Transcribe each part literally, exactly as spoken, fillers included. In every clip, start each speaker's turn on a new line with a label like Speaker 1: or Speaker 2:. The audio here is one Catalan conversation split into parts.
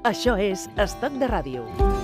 Speaker 1: Això és Estoc de Ràdio.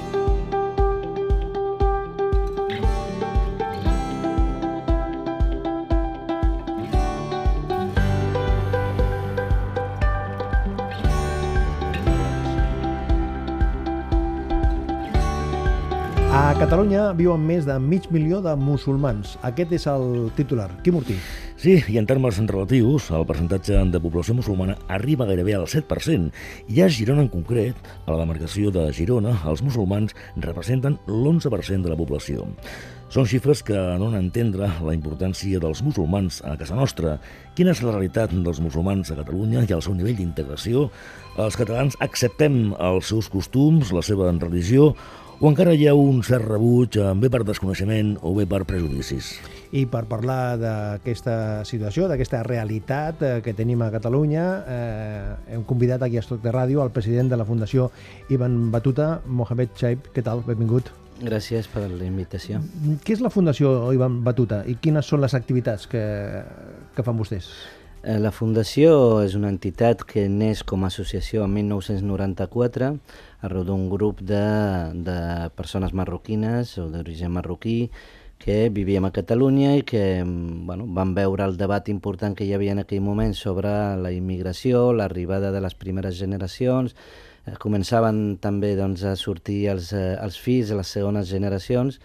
Speaker 2: A Catalunya viuen més de mig milió de musulmans. Aquest és el titular. Quim Ortí.
Speaker 3: Sí, i en termes relatius, el percentatge de població musulmana arriba gairebé al set per cent. I a Girona en concret, a la demarcació de Girona, els musulmans representen l'onze per cent de la població. Són xifres que donen a entendre la importància dels musulmans a casa nostra. Quina és la realitat dels musulmans a Catalunya i el seu nivell d'integració? Els catalans acceptem els seus costums, la seva religió, o encara hi ha un cert rebuig, bé per desconeixement o bé per prejudicis?
Speaker 2: I per parlar d'aquesta situació, d'aquesta realitat que tenim a Catalunya, eh, hem convidat aquí a Estoc de Ràdio el president de la Fundació Ibn Battuta, Mohamed Chaib. Què tal? Benvingut.
Speaker 4: Gràcies per la invitació.
Speaker 2: Què és la Fundació Ibn Battuta i quines són les activitats que, que fan vostès?
Speaker 4: La Fundació és una entitat que neix com a associació en mil nou-cents noranta-quatre arreu d'un grup de, de persones marroquines o d'origen marroquí que vivíem a Catalunya i que bueno, van veure el debat important que hi havia en aquell moment sobre la immigració, l'arribada de les primeres generacions. Començaven també doncs, a sortir els, els fills de les segones generacions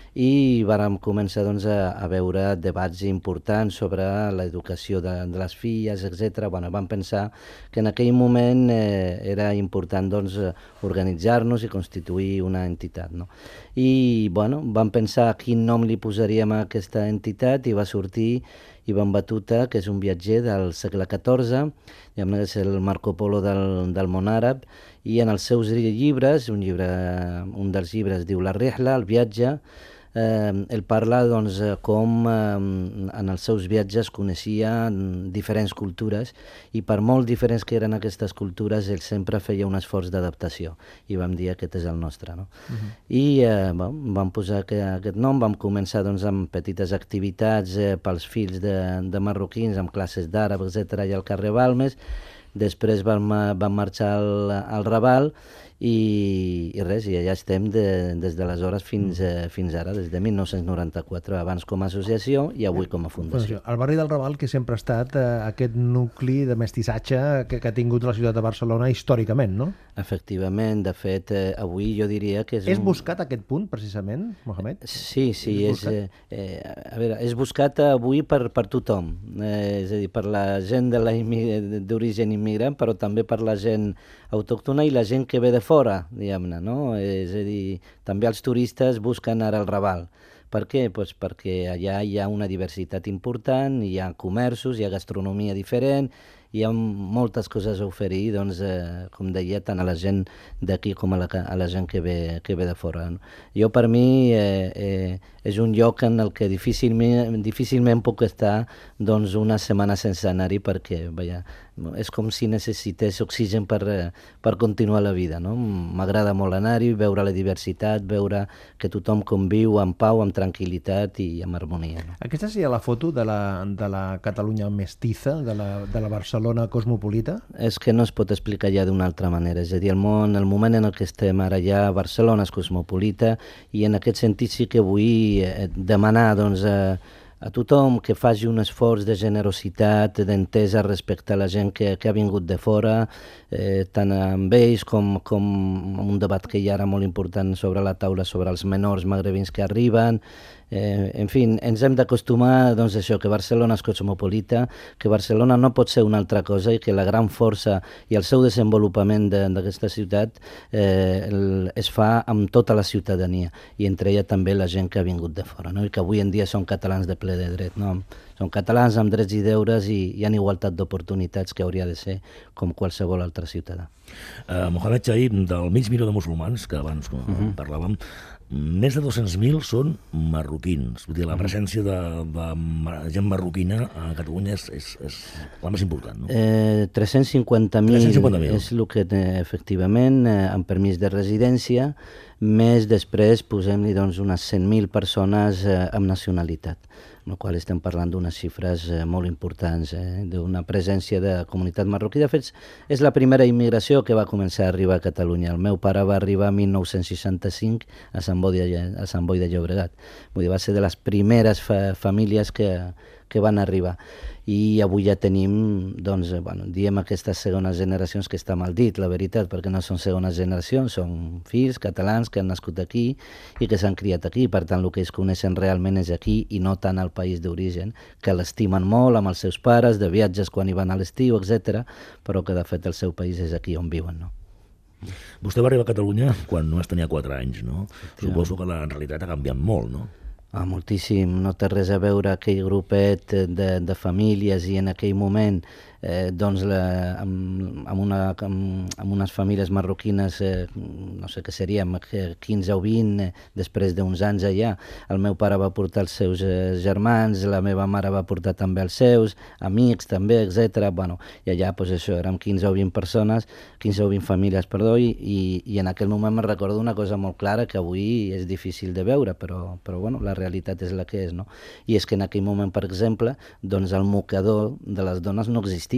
Speaker 4: i vàrem començar doncs, a, a veure debats importants sobre l'educació de, de les filles, etcètera. Bueno, vam pensar que en aquell moment eh, era important doncs, organitzar-nos i constituir una entitat. No? I bueno, vam pensar quin nom li posaríem a aquesta entitat i va sortir Ibn Battuta, que és un viatger del segle catorze, diguem-ne que és el Marco Polo del, del món àrab, i en els seus llibres, un, llibre, un dels llibres diu La Rihla, el viatge, Eh, ell parla doncs, com eh, en els seus viatges coneixia diferents cultures i per molt diferents que eren aquestes cultures ell sempre feia un esforç d'adaptació i vam dir aquest és el nostre. No? Uh-huh. I eh, bon, vam posar que, aquest nom, vam començar doncs, amb petites activitats eh, pels fills de, de marroquins, amb classes d'àrab, etcètera, i al carrer Balmes. Després vam, vam marxar al, al Raval i, i res, i allà estem de, des d'aleshores fins, eh, fins ara, des de mil nou-cents noranta-quatre, abans com a associació i avui com a fundació.
Speaker 2: El barri del Raval, que sempre ha estat eh, aquest nucli de mestissatge que, que ha tingut la ciutat de Barcelona històricament, no?
Speaker 4: Efectivament, de fet, eh, avui jo diria que és...
Speaker 2: És
Speaker 4: un...
Speaker 2: buscat aquest punt, precisament, Mohamed?
Speaker 4: Sí, sí, és, és, eh, a veure, és buscat avui per, per tothom, eh, és a dir, per la gent de la immig... d'origen immigrant, però també per la gent autòctona i la gent que ve de fora, diguem-ne, no? És a dir, també els turistes busquen ara el Raval. Per què? Pues perquè allà hi ha una diversitat important, hi ha comerços, hi ha gastronomia diferent, hi ha moltes coses a oferir, doncs, eh, com deia, tant a la gent d'aquí com a la, a la gent que ve, que ve de fora. No? Jo, per mi, eh, eh, és un lloc en el que difícilment, difícilment puc estar doncs, una setmana sense anar-hi perquè, vaja, és com si necessités oxigen per, per continuar la vida. No? M'agrada molt anar-hi, veure la diversitat, veure que tothom conviu en pau, amb tranquil·litat i amb harmonia. No?
Speaker 2: Aquesta seria la foto de la, de la Catalunya mestiza, de la, de la Barcelona cosmopolita? És
Speaker 4: que no es pot explicar ja d'una altra manera. És a dir, el, món, el moment en el que estem ara ja, Barcelona és cosmopolita i en aquest sentit sí que vull eh, demanar doncs, a, a tothom que faci un esforç de generositat, d'entesa respecte a la gent que, que ha vingut de fora, eh, tant amb ells com, com un debat que hi ha ara molt important sobre la taula sobre els menors magrebins que arriben. Eh, en fi, ens hem d'acostumar doncs, a això, que Barcelona és cosmopolita, que Barcelona no pot ser una altra cosa i que la gran força i el seu desenvolupament d'aquesta ciutat eh, el, es fa amb tota la ciutadania i entre ella també la gent que ha vingut de fora, no? I que avui en dia són catalans de ple de dret, no? Són catalans amb drets i deures i hi ha igualtat d'oportunitats que hauria de ser com qualsevol altre ciutadà.
Speaker 3: Uh, Mohamed Chaib, del mig milió de musulmans que abans uh -huh. parlàvem, més de dos-cents mil són marroquins. Vull dir, la presència de, de gent marroquina a Catalunya és, és, és la més important, no?
Speaker 4: Eh, tres-cents cinquanta mil és el que, efectivament, eh, amb permís de residència. més després posem-li doncs, unes cent mil persones eh, amb nacionalitat, amb la qual estem parlant d'unes xifres eh, molt importants, eh, d'una presència de comunitat marroquí. De fet, és la primera immigració que va començar a arribar a Catalunya. El meu pare va arribar a mil nou-cents seixanta-cinc a Sant Boi de, a Sant Boi de Llobregat. Vull dir, va ser de les primeres fa famílies que, que van arribar. I avui ja tenim, doncs, bueno, diem aquestes segones generacions, que està mal dit, la veritat, perquè no són segones generacions, són fills catalans que han nascut aquí i que s'han criat aquí. Per tant, el que es coneixen realment és aquí i no tant al país d'origen, que l'estimen molt amb els seus pares, de viatges quan hi van a l'estiu, etcètera, però que de fet el seu país és aquí on viuen, no?
Speaker 3: Vostè va arribar a Catalunya quan només tenia quatre anys, no? Suposo que la realitat ha canviat molt, no?
Speaker 4: Ah, moltíssim, no té res a veure aquell grupet de, de famílies i en aquell moment eh, doncs la, amb, amb, una, amb, amb unes famílies marroquines, eh, no sé què seríem, quinze o vint, eh, després d'uns anys allà. El meu pare va portar els seus eh, germans, la meva mare va portar també els seus, amics també, etcètera. Bueno, i allà, pues això, érem quinze o vint persones, quinze o vint famílies, perdó, i, i, i en aquell moment me recordo una cosa molt clara que avui és difícil de veure, però, però bueno, la realitat és la que és, no? I és que en aquell moment, per exemple, doncs el mocador de les dones no existia.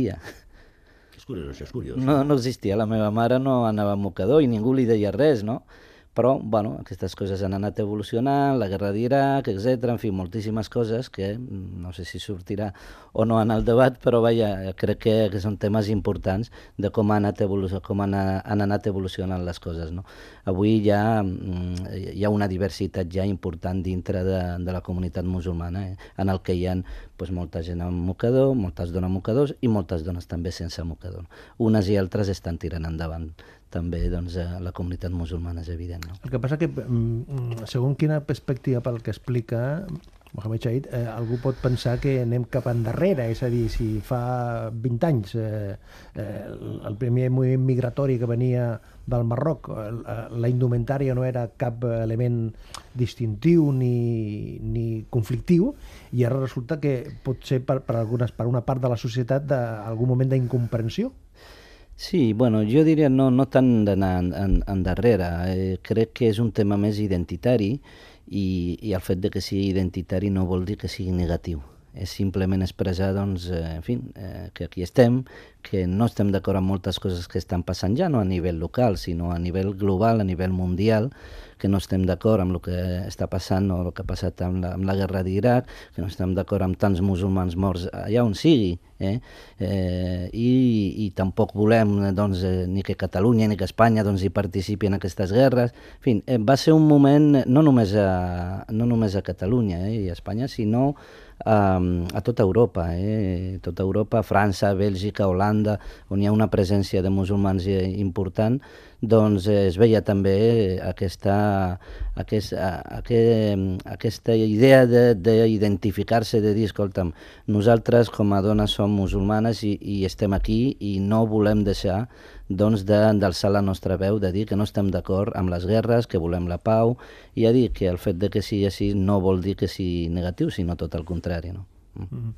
Speaker 3: És curiós, això és curiós.
Speaker 4: No, no existia, la meva mare no anava a mocador i ningú li deia res, no? Però, bueno, aquestes coses han anat evolucionant, la guerra d'Iraq, etcètera, en fi, moltíssimes coses que no sé si sortirà o no en el debat, però vaja, crec que, que són temes importants de com, ha anat com han, han anat evolucionant les coses, no? Avui hi ha, hi ha una diversitat ja important dintre de, de la comunitat musulmana, eh? En el que hi ha pues, molta gent amb mocador, moltes dones mocadors i moltes dones també sense mocador. Unes i altres estan tirant endavant també doncs, la comunitat musulmana, és evident. No?
Speaker 2: El que passa que, segons quina perspectiva pel que explica Mohamed Chait, eh, algú pot pensar que anem cap endarrere, és a dir, si fa vint anys eh, eh, el primer moviment migratori que venia del Marroc, la indumentària no era cap element distintiu ni, ni conflictiu, i ara resulta que pot ser per, per, algunes, per una part de la societat d'algun moment d'incomprensió.
Speaker 4: Sí, bueno, jo diria no, no tant d'anar en, en, endarrere. Eh, crec que és un tema més identitari i, i el fet de que sigui identitari no vol dir que sigui negatiu. És simplement expressar, doncs, eh, en fi, eh, que aquí estem, que no estem d'acord amb moltes coses que estan passant ja, no a nivell local, sinó a nivell global, a nivell mundial, que no estem d'acord amb el que està passant o el que ha passat amb la, amb la guerra d'Iraq, que no estem d'acord amb tants musulmans morts allà on sigui, eh? Eh, i, i tampoc volem doncs, eh, ni que Catalunya ni que Espanya doncs, hi participi en aquestes guerres. En fi, eh, va ser un moment no només a, no només a Catalunya eh, i a Espanya, sinó a, a tota Europa, eh? Tota Europa, França, Bèlgica, Holanda, on hi ha una presència de musulmans important, doncs eh, es veia també aquesta, aquesta, aquesta idea d'identificar-se, de, de dir, escolta'm, nosaltres com a dones som musulmanes i, i estem aquí i no volem deixar doncs, d'alçar la nostra veu, de dir que no estem d'acord amb les guerres, que volem la pau, i a dir que el fet de que sigui així no vol dir que sigui negatiu, sinó tot el contrari, no? Mm-hmm.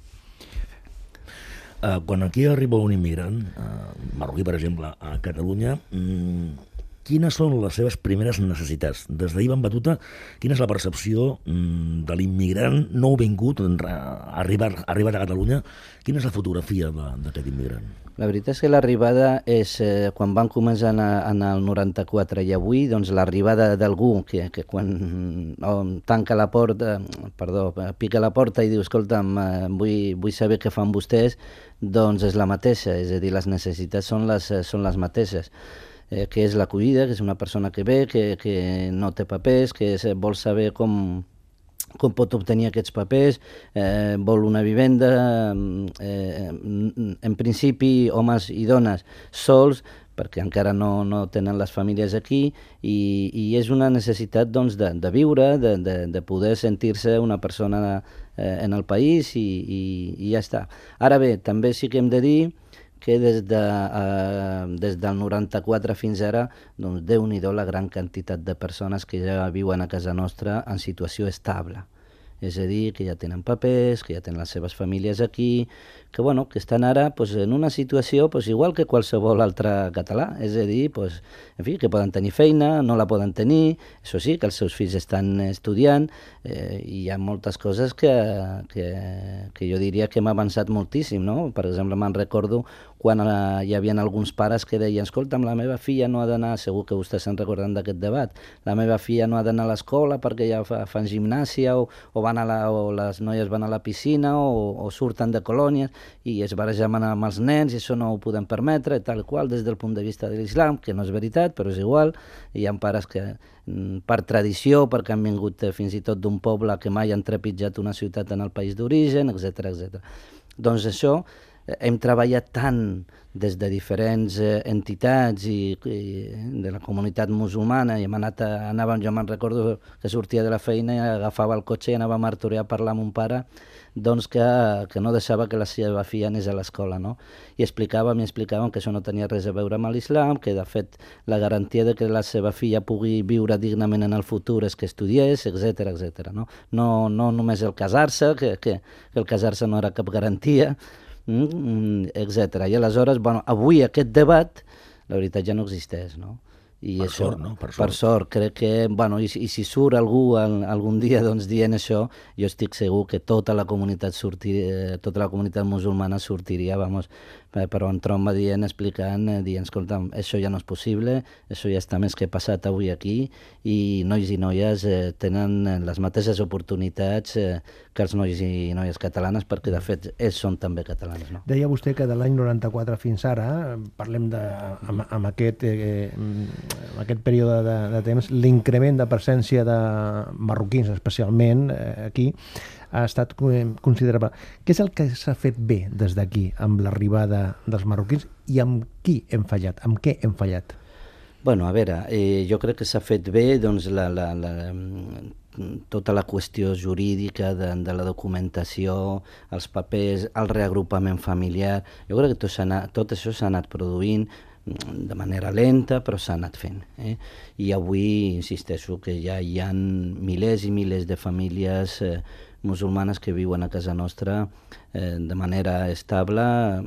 Speaker 3: Uh, quan aquí arriba un immigrant, uh, marroquí, per exemple, a Catalunya, um, quines són les seves primeres necessitats? Des d'ahir van batuta, quina és la percepció um, de l'immigrant nouvingut, arribat, arribat a Catalunya? Quina és la fotografia d'aquest immigrant?
Speaker 4: La veritat és que l'arribada és, eh, quan van començar en, en el noranta-quatre i avui, doncs l'arribada d'algú que, que quan oh, tanca la porta, perdó, pica la porta i diu, escolta'm, eh, vull, vull saber què fan vostès, doncs és la mateixa, és a dir, les necessitats són les, són les mateixes. Eh, que és l'acollida, que és una persona que ve, que, que no té papers, que és, vol saber com... com pot obtenir aquests papers, eh, vol una vivenda, eh, en principi homes i dones sols, perquè encara no, no tenen les famílies aquí, i, i és una necessitat doncs, de, de viure, de, de, de poder sentir-se una persona eh, en el país i, i, i ja està. Ara bé, també sí que hem de dir que des, de, eh, des del noranta-quatre fins ara, doncs, Déu-n'hi-do la gran quantitat de persones que ja viuen a casa nostra en situació estable. és a dir, que ja tenen papers, que ja tenen les seves famílies aquí, que, bueno, que estan ara pues, en una situació pues, igual que qualsevol altre català, és a dir, pues, en fi, que poden tenir feina, no la poden tenir, això sí, que els seus fills estan estudiant, eh, i hi ha moltes coses que, que, que jo diria que hem avançat moltíssim, no? Per exemple, me'n recordo quan eh, hi havia alguns pares que deien, escolta'm, la meva filla no ha d'anar, segur que vostès se'n recorden d'aquest debat, la meva filla no ha d'anar a l'escola perquè ja fa, fan gimnàsia o, o, van a la, o les noies van a la piscina o, o surten de colònies i es barrejaven amb els nens i això no ho podem permetre, tal qual, des del punt de vista de l'islam, que no és veritat, però és igual. Hi ha pares que, per tradició, perquè han vingut fins i tot d'un poble que mai han trepitjat una ciutat en el país d'origen, etcètera, etcètera. Doncs això, hem treballat tant des de diferents eh, entitats i, i de la comunitat musulmana i hem anat a, anàvem, jo me'n recordo que sortia de la feina i agafava el cotxe i anava a Martorell a parlar amb un pare doncs que, que no deixava que la seva filla anés a l'escola, no? I explicàvem i explicàvem que això no tenia res a veure amb l'islam, que de fet la garantia de que la seva filla pugui viure dignament en el futur és que estudiés, etcètera, etcètera, no? No, no només el casar-se, que, que, que el casar-se no era cap garantia, etcètera. I aleshores, bueno, avui aquest debat, la veritat ja no existeix, no? I
Speaker 3: per
Speaker 4: això,
Speaker 3: sort, no? Per sort.
Speaker 4: Per sort, crec que, bueno, i, i si surt algú al, algun dia doncs, dient això, jo estic segur que tota la comunitat sortiria, tota la comunitat musulmana sortiria, vamos, però en tromba dient, explicant, dient, escolta, això ja no és possible, això ja està més que passat avui aquí, i nois i noies eh, tenen les mateixes oportunitats eh, que els nois i noies catalanes, perquè de fet ells són també catalans, no?
Speaker 2: Deia vostè que de l'any noranta-quatre fins ara, parlem de, amb, amb, aquest, eh, amb aquest període de, de temps, l'increment de presència de marroquins, especialment eh, aquí, ha estat considerable. Què és el que s'ha fet bé des d'aquí amb l'arribada dels marroquins i amb qui hem fallat? Amb què hem fallat?
Speaker 4: Bueno, a veure, eh, jo crec que s'ha fet bé doncs, la, la, la, tota la qüestió jurídica de, de la documentació, els papers, el reagrupament familiar. Jo crec que tot, anat, tot això s'ha anat produint de manera lenta, però s'ha anat fent. Eh? I avui, insisteixo, que ja hi ha milers i milers de famílies eh, musulmanes que viuen a casa nostra eh, de manera estable,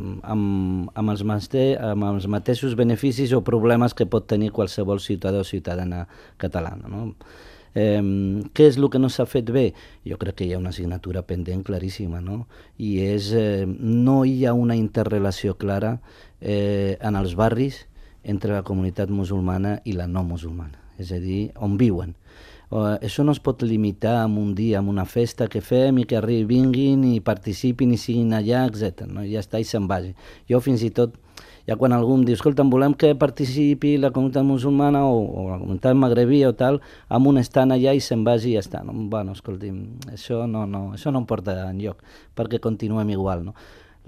Speaker 4: amb, amb, els mate, amb els mateixos beneficis o problemes que pot tenir qualsevol ciutadà o ciutadana catalana, no? Eh, què és el que no s'ha fet bé? Jo crec que hi ha una assignatura pendent claríssima, no? I és, eh, no hi ha una interrelació clara eh, en els barris entre la comunitat musulmana i la no musulmana, és a dir, on viuen. Uh, això no es pot limitar en un dia, en una festa que fem i que arribin, vinguin i participin i siguin allà, etcètera. No? Ja està, i se'n vagi. Jo fins i tot, ja quan algú em diu, escolta, volem que participi la comunitat musulmana o, o la comunitat magrebia o tal, amb un estant allà i se'n vagi i ja està. No? Bueno, escolti'm, això no, no, això no em porta enlloc, perquè continuem igual. No?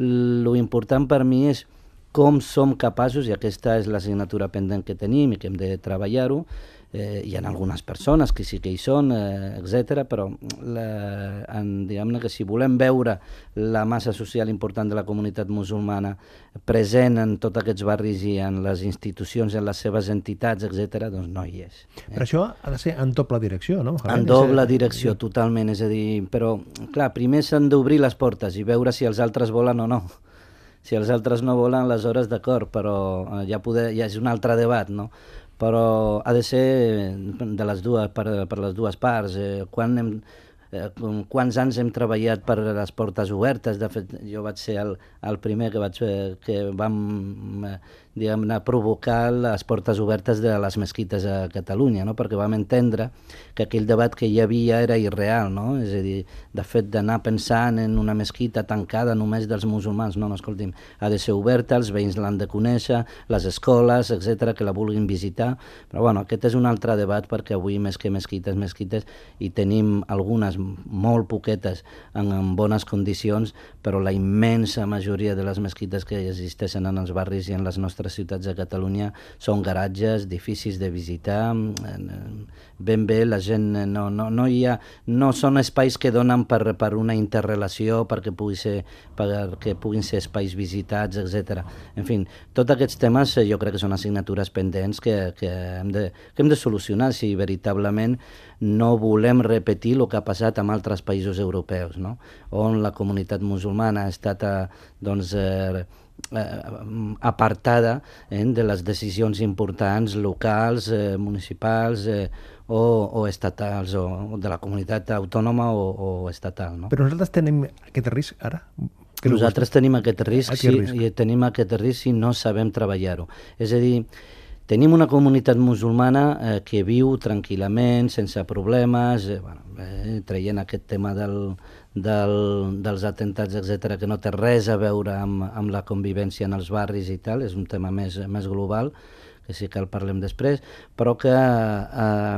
Speaker 4: Lo important per mi és com som capaços, i aquesta és l'assignatura pendent que tenim i que hem de treballar-ho. Eh, hi ha algunes persones que sí que hi són, eh, etcètera, però la, en, diguem-ne que si volem veure la massa social important de la comunitat musulmana present en tots aquests barris i en les institucions, en les seves entitats, etcètera, doncs no hi és. Eh?
Speaker 2: Però això ha de ser en doble direcció, no?
Speaker 4: En doble direcció, totalment, és a dir, però, clar, primer s'han d'obrir les portes i veure si els altres volen o no. Si els altres no volen, aleshores d'acord, però ja, poder, ja és un altre debat, no? Però ha de ser de les dues, per, per les dues parts. Eh, quan hem, eh, quants anys hem treballat per les portes obertes? De fet, jo vaig ser el, el primer que, vaig, que vam eh, diguem-ne, provocar les portes obertes de les mesquites a Catalunya, no? Perquè vam entendre que aquell debat que hi havia era irreal, no? És a dir, de fet, d'anar pensant en una mesquita tancada només dels musulmans, no, no, escolti'm, ha de ser oberta, els veïns l'han de conèixer, les escoles, etcètera, que la vulguin visitar, però bueno, aquest és un altre debat perquè avui més que mesquites, mesquites, i tenim algunes molt poquetes en, en bones condicions, però la immensa majoria de les mesquites que existeixen en els barris i en les nostres altres ciutats de Catalunya són garatges difícils de visitar, ben bé la gent no, no, no hi ha, no són espais que donen per, per una interrelació, perquè, pugui ser, perquè puguin ser espais visitats, etcètera. En fi, tots aquests temes jo crec que són assignatures pendents que, que, hem de, que hem de solucionar si veritablement no volem repetir el que ha passat en altres països europeus, no? On la comunitat musulmana ha estat eh, doncs, eh, apartada eh, de les decisions importants locals, eh, municipals eh, o, o estatals, o de la comunitat autònoma o, o estatal. No?
Speaker 2: Però nosaltres tenim aquest risc ara? Que
Speaker 4: nosaltres tenim aquest risc,
Speaker 2: aquest
Speaker 4: sí,
Speaker 2: risc.
Speaker 4: i tenim aquest risc si no sabem treballar-ho. És a dir, tenim una comunitat musulmana eh, que viu tranquil·lament, sense problemes, eh, bueno, eh, traient aquest tema del, del, dels atentats, etcètera, que no té res a veure amb, amb la convivència en els barris i tal, és un tema més, més global, que sí que el parlem després, però que eh,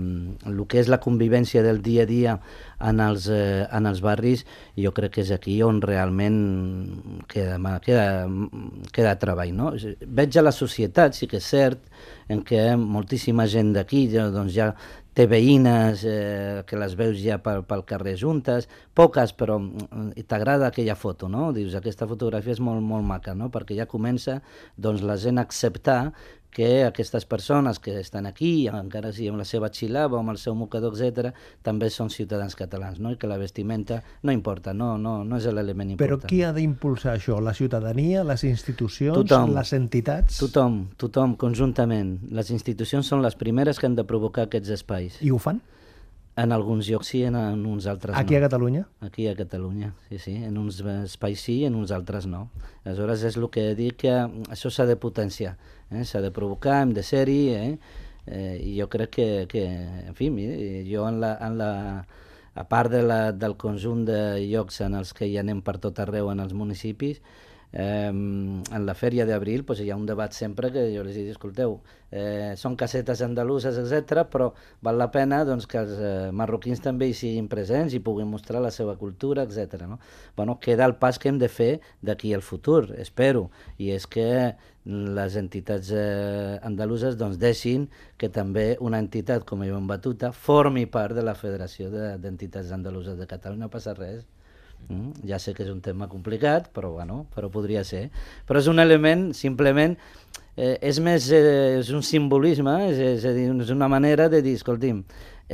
Speaker 4: el que és la convivència del dia a dia en els, eh, en els barris, jo crec que és aquí on realment queda, queda, queda treball. No? Veig a la societat, sí que és cert, en què moltíssima gent d'aquí doncs ja té veïnes eh, que les veus ja pel, pel carrer juntes, poques, però t'agrada aquella foto, no? Dius, aquesta fotografia és molt, molt maca, no? Perquè ja comença doncs, la gent a acceptar que aquestes persones que estan aquí, encara sigui amb la seva xilava o amb el seu mocador, etcètera, també són ciutadans catalans, no? I que la vestimenta no importa, no, no, no és l'element important.
Speaker 2: Però qui ha d'impulsar això? La ciutadania, les institucions,
Speaker 4: tothom,
Speaker 2: les entitats?
Speaker 4: Tothom, tothom, conjuntament. Les institucions són les primeres que han de provocar aquests espais.
Speaker 2: I ho fan?
Speaker 4: En alguns llocs sí, en, en uns altres
Speaker 2: Aquí
Speaker 4: no.
Speaker 2: a Catalunya?
Speaker 4: Aquí a Catalunya, sí, sí. En uns espais sí, en uns altres no. Aleshores és el que dic que això s'ha de potenciar, eh? S'ha de provocar, hem de ser-hi, eh? Eh, i jo crec que, que en fi, jo en la, en la, a part de la, del conjunt de llocs en els que hi anem per tot arreu en els municipis, Eh, en la fèria d'abril pues, hi ha un debat sempre que jo els dic, escolteu, eh, són casetes andaluses, etcètera, però val la pena doncs, que els eh, marroquins també hi siguin presents i puguin mostrar la seva cultura, etcètera. No? Bueno, queda el pas que hem de fer d'aquí al futur, espero, i és que les entitats eh, andaluses doncs, deixin que també una entitat com Ibn Battuta formi part de la Federació d'Entitats Andaluses de Catalunya, no passa res. Mm, ja sé que és un tema complicat, però, bueno, però podria ser. Però és un element, simplement, eh, és més eh, és un simbolisme, és, és, a dir, és una manera de dir, escolti'm,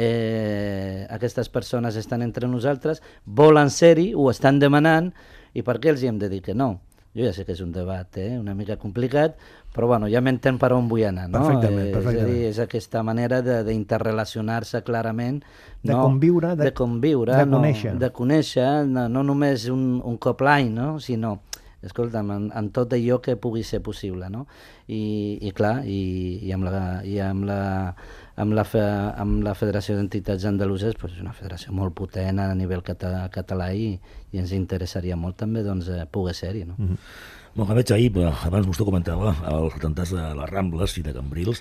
Speaker 4: eh, aquestes persones estan entre nosaltres, volen ser-hi, ho estan demanant, i per què els hi hem de dir que no? Jo ja sé que és un debat eh, una mica complicat, però bueno, ja m'entén per on vull anar, no?
Speaker 2: Perfectament, perfectament.
Speaker 4: És a dir, és aquesta manera d'interrelacionar-se clarament,
Speaker 2: de
Speaker 4: no?
Speaker 2: conviure, de,
Speaker 4: de, conviure,
Speaker 2: de conèixer,
Speaker 4: no? de conèixer no, no només un, un cop l'any, no? Sinó, escolta'm, en, en tot allò que pugui ser possible, no? I, i clar, i, i amb la... I amb la amb la, fe, amb la Federació d'Entitats Andaluses, pues, és una federació molt potent a nivell català, català i, i ens interessaria molt també doncs, eh, poder ser-hi. No?
Speaker 3: Mm-hmm. Mohamed Chaib, abans vostè comentava els atemptats de les Rambles i de Cambrils.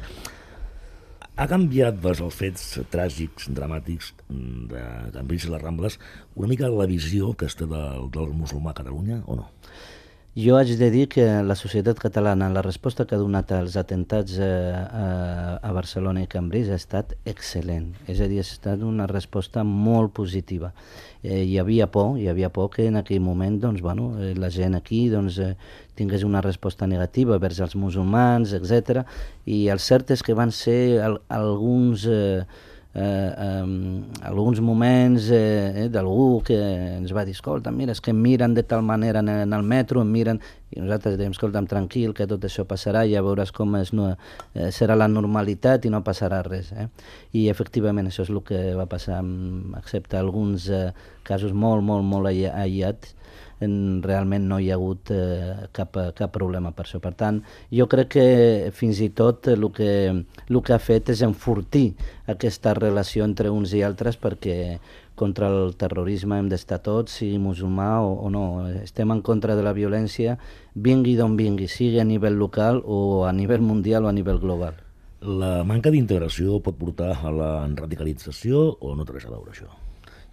Speaker 3: Ha canviat des dels fets tràgics, dramàtics de Cambrils i les Rambles una mica la visió que es té del, del musulmà a Catalunya o no?
Speaker 4: Jo haig de dir que la societat catalana, la resposta que ha donat als atentats eh, a, a Barcelona i Cambrils ha estat excel·lent. És a dir, ha estat una resposta molt positiva. Eh, hi havia por, hi havia por que en aquell moment doncs, bueno, eh, la gent aquí doncs, eh, tingués una resposta negativa vers els musulmans, etcètera. I el cert és que van ser al, alguns... Eh, Eh, eh, alguns moments eh, eh, d'algú que ens va dir, escolta, mira, és que em miren de tal manera en, en el metro, em miren, i nosaltres dèiem, escolta'm, tranquil, que tot això passarà, ja veuràs com és, no, eh, serà la normalitat i no passarà res. Eh? I efectivament això és el que va passar, excepte alguns eh, casos molt, molt, molt aïllats, en, realment no hi ha hagut eh, cap, cap problema per això. Per tant, jo crec que fins i tot el que, el que ha fet és enfortir aquesta relació entre uns i altres, perquè contra el terrorisme hem d'estar tots, sigui musulmà o, o no. Estem en contra de la violència, vingui d'on vingui, sigui a nivell local o a nivell mundial o a nivell global.
Speaker 3: La manca d'integració pot portar a la radicalització o no té res a veure això?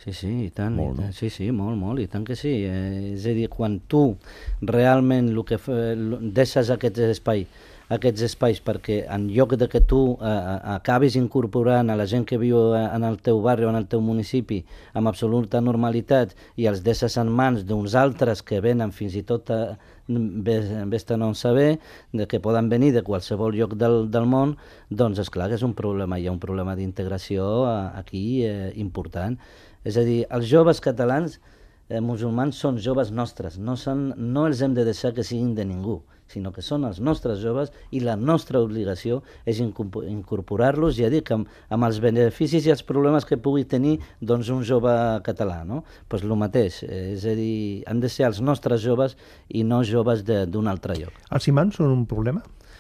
Speaker 4: Sí, sí, i tant.
Speaker 3: Molt,
Speaker 4: i tant.
Speaker 3: no?
Speaker 4: Sí, sí, molt, molt, i tant que sí. Eh, és a dir, quan tu realment el que fa, deixes aquest espai, aquests espais perquè en lloc de que tu eh, acabis incorporant a la gent que viu en el teu barri o en el teu municipi amb absoluta normalitat i els deixes en mans d'uns altres que venen fins i tot a, vés-te no saber, de que poden venir de qualsevol lloc del, del món, doncs és clar que és un problema, hi ha un problema d'integració aquí eh, important. És a dir, els joves catalans eh, musulmans són joves nostres, no, són, no els hem de deixar que siguin de ningú, sinó que són els nostres joves i la nostra obligació és incorporar-los, ja dic, amb, amb els beneficis i els problemes que pugui tenir doncs, un jove català, no? Pues el mateix, eh, és a dir, han de ser els nostres joves i no joves d'un altre lloc.
Speaker 2: Els imams són un problema?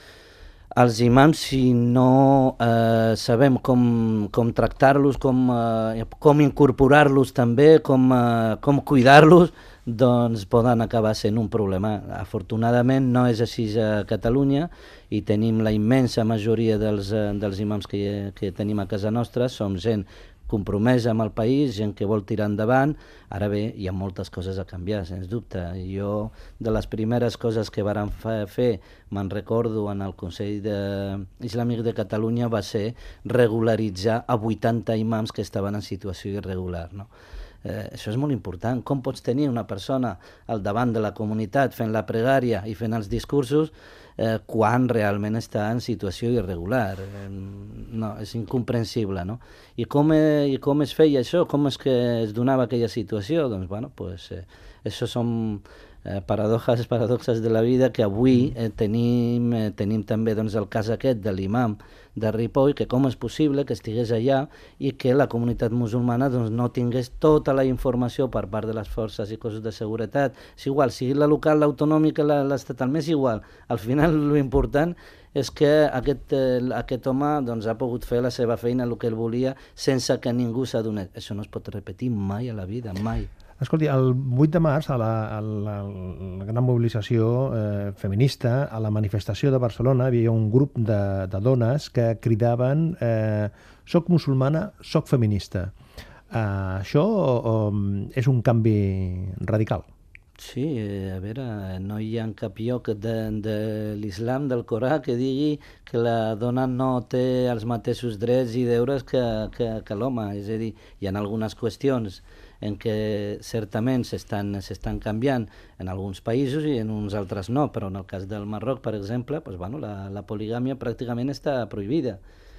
Speaker 4: Els imams, si no eh, sabem com, com tractar-los, com, eh, com incorporar-los també, com, eh, com cuidar-los, doncs poden acabar sent un problema. Afortunadament no és així a Catalunya i tenim la immensa majoria dels, eh, dels imams que, que tenim a casa nostra, som gent compromesa amb el país, gent que vol tirar endavant. Ara bé, hi ha moltes coses a canviar, sens dubte. Jo, de les primeres coses que vàrem fer, me'n recordo en el Consell de... Islàmic de Catalunya, va ser regularitzar a vuitanta imams que estaven en situació irregular, no? Eh, això és molt important. Com pots tenir una persona al davant de la comunitat fent la pregària i fent els discursos eh, quan realment està en situació irregular? Eh, no, és incomprensible, no? I com, eh, I com es feia això? Com és que es donava aquella situació? Doncs, bueno, pues, eh, això són eh, paradoxes, paradoxes de la vida que avui eh, tenim, eh, tenim també doncs, el cas aquest de l'imam de Ripoll, que com és possible que estigués allà i que la comunitat musulmana doncs, no tingués tota la informació per part de les forces i cossos de seguretat. És igual, sigui la local, l'autonòmica, l'estatal, m'és igual. Al final, l'important és que aquest, eh, aquest home doncs, ha pogut fer la seva feina, el que ell volia, sense que ningú s'adonés. Això no es pot repetir mai a la vida, mai.
Speaker 2: Escolti, el vuit de març, a la, a la, a la gran mobilització eh, feminista, a la manifestació de Barcelona, hi havia un grup de, de dones que cridaven eh, «Soc musulmana, soc feminista». Eh, això eh, és un canvi radical.
Speaker 4: Sí, a veure, no hi ha cap lloc de, de l'islam, del Corà, que digui que la dona no té els mateixos drets i deures que, que, que l'home. És a dir, hi ha algunes qüestions en què certament s'estan s'estan canviant en alguns països i en uns altres no, però en el cas del Marroc, per exemple, pues, bueno, la, la poligàmia pràcticament està prohibida.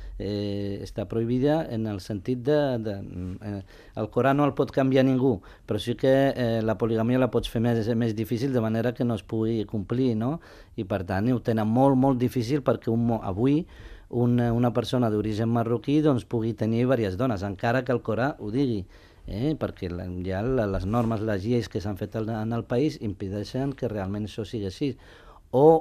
Speaker 4: Eh, està prohibida en el sentit de... de eh, el Corà no el pot canviar ningú, però sí que eh, la poligàmia la pots fer més, més difícil de manera que no es pugui complir, no? I per tant ho tenen molt, molt difícil perquè un, avui una, una persona d'origen marroquí doncs, pugui tenir diverses dones, encara que el Corà ho digui. Eh, perquè ja les normes, les lleis que s'han fet en el país impedeixen que realment això sigui així. O,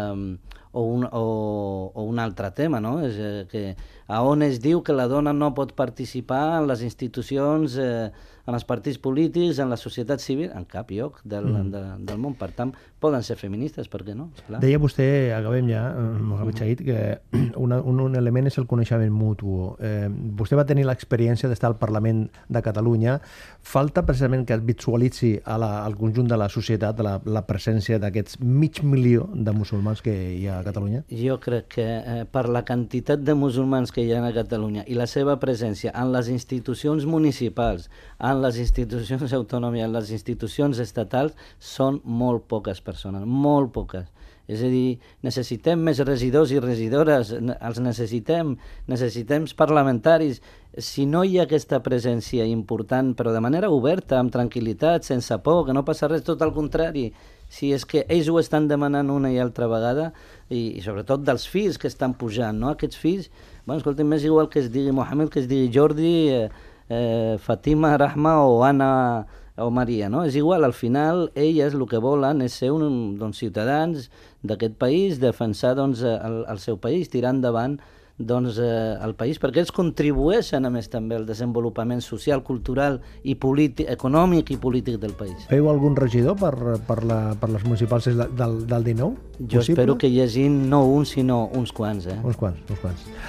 Speaker 4: eh, o, un, o, o un altre tema, no? És eh, que a on es diu que la dona no pot participar en les institucions, eh, en els partits polítics, en la societat civil, en cap lloc del, mm. de, del món. Per tant, poden ser feministes, per què no? Esclar.
Speaker 2: Deia vostè, acabem ja, Mohamed Chahid, que una, un, un element és el coneixement mutu. Eh, vostè va tenir l'experiència d'estar al Parlament de Catalunya. Falta precisament que es visualitzi a la, al conjunt de la societat la, la presència d'aquests mig milió de musulmans que hi ha a Catalunya?
Speaker 4: Jo crec que eh, per la quantitat de musulmans que hi ha a Catalunya i la seva presència en les institucions municipals, en les institucions autònomes, en les institucions estatals, són molt poques persones, molt poques. És a dir, necessitem més regidors i regidores, els necessitem, necessitem parlamentaris. Si no hi ha aquesta presència important, però de manera oberta, amb tranquil·litat, sense por, que no passa res, tot al contrari, si és que ells ho estan demanant una i altra vegada, i, i sobretot dels fills que estan pujant, no? Aquests fills, bueno, escolta'm, és igual que es digui Mohamed, que es digui Jordi, eh, eh, Fatima, Rahma o Anna o Maria, no? És igual, al final elles el que volen és ser un, doncs, ciutadans d'aquest país, defensar doncs, el, el seu país, tirar endavant doncs, eh, el país, perquè ells contribueixen a més també al desenvolupament social, cultural i polític, econòmic i polític del país.
Speaker 2: Feu algun regidor per, per, la, per les municipals del, del dinou?
Speaker 4: Jo possible? Espero que hi hagi no un, sinó uns quants. Eh?
Speaker 2: Uns quants, uns quants.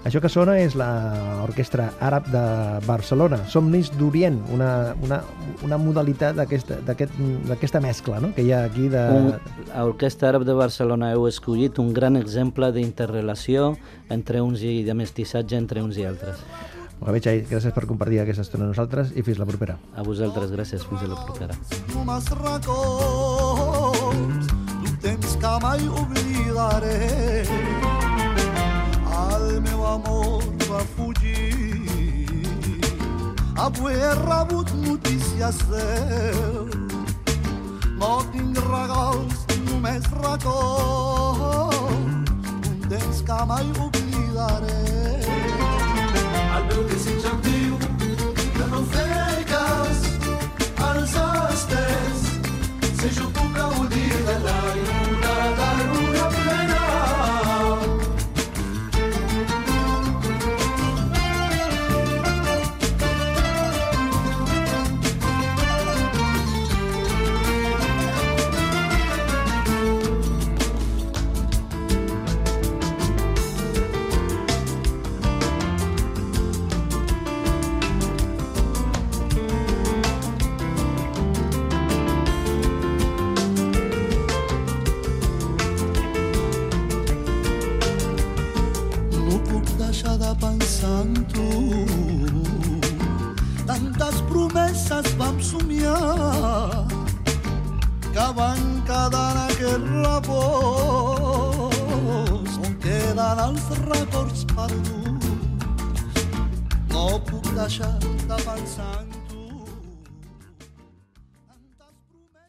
Speaker 2: Això que sona és l'Orquestra Àrab de Barcelona, Somnis d'Orient, una, una, una modalitat d'aquesta aquest, d'aquesta mescla, no?, que hi ha aquí de...
Speaker 4: L'Orquestra Àrab de Barcelona heu escollit un gran exemple d'interrelació entre uns i de mestissatge entre uns i altres.
Speaker 2: Mohamed Chaib, gràcies per compartir aquesta estona amb nosaltres i fins la propera.
Speaker 4: A vosaltres, gràcies, fins a la propera.
Speaker 5: Només records d'un temps que mai oblidaré. El meu amor va fugir, avui he rebut notícies seu. No tinc regals, només records d'un temps que mai oblidaré. El meu desig em diu que no fer cas als estels, si jo puc gaudir de la lluna, de lluna plena. Pensant tu, tantes promeses vam somiar que van quedar en aquest repòs on queden els records perduts. No puc deixar de pensar en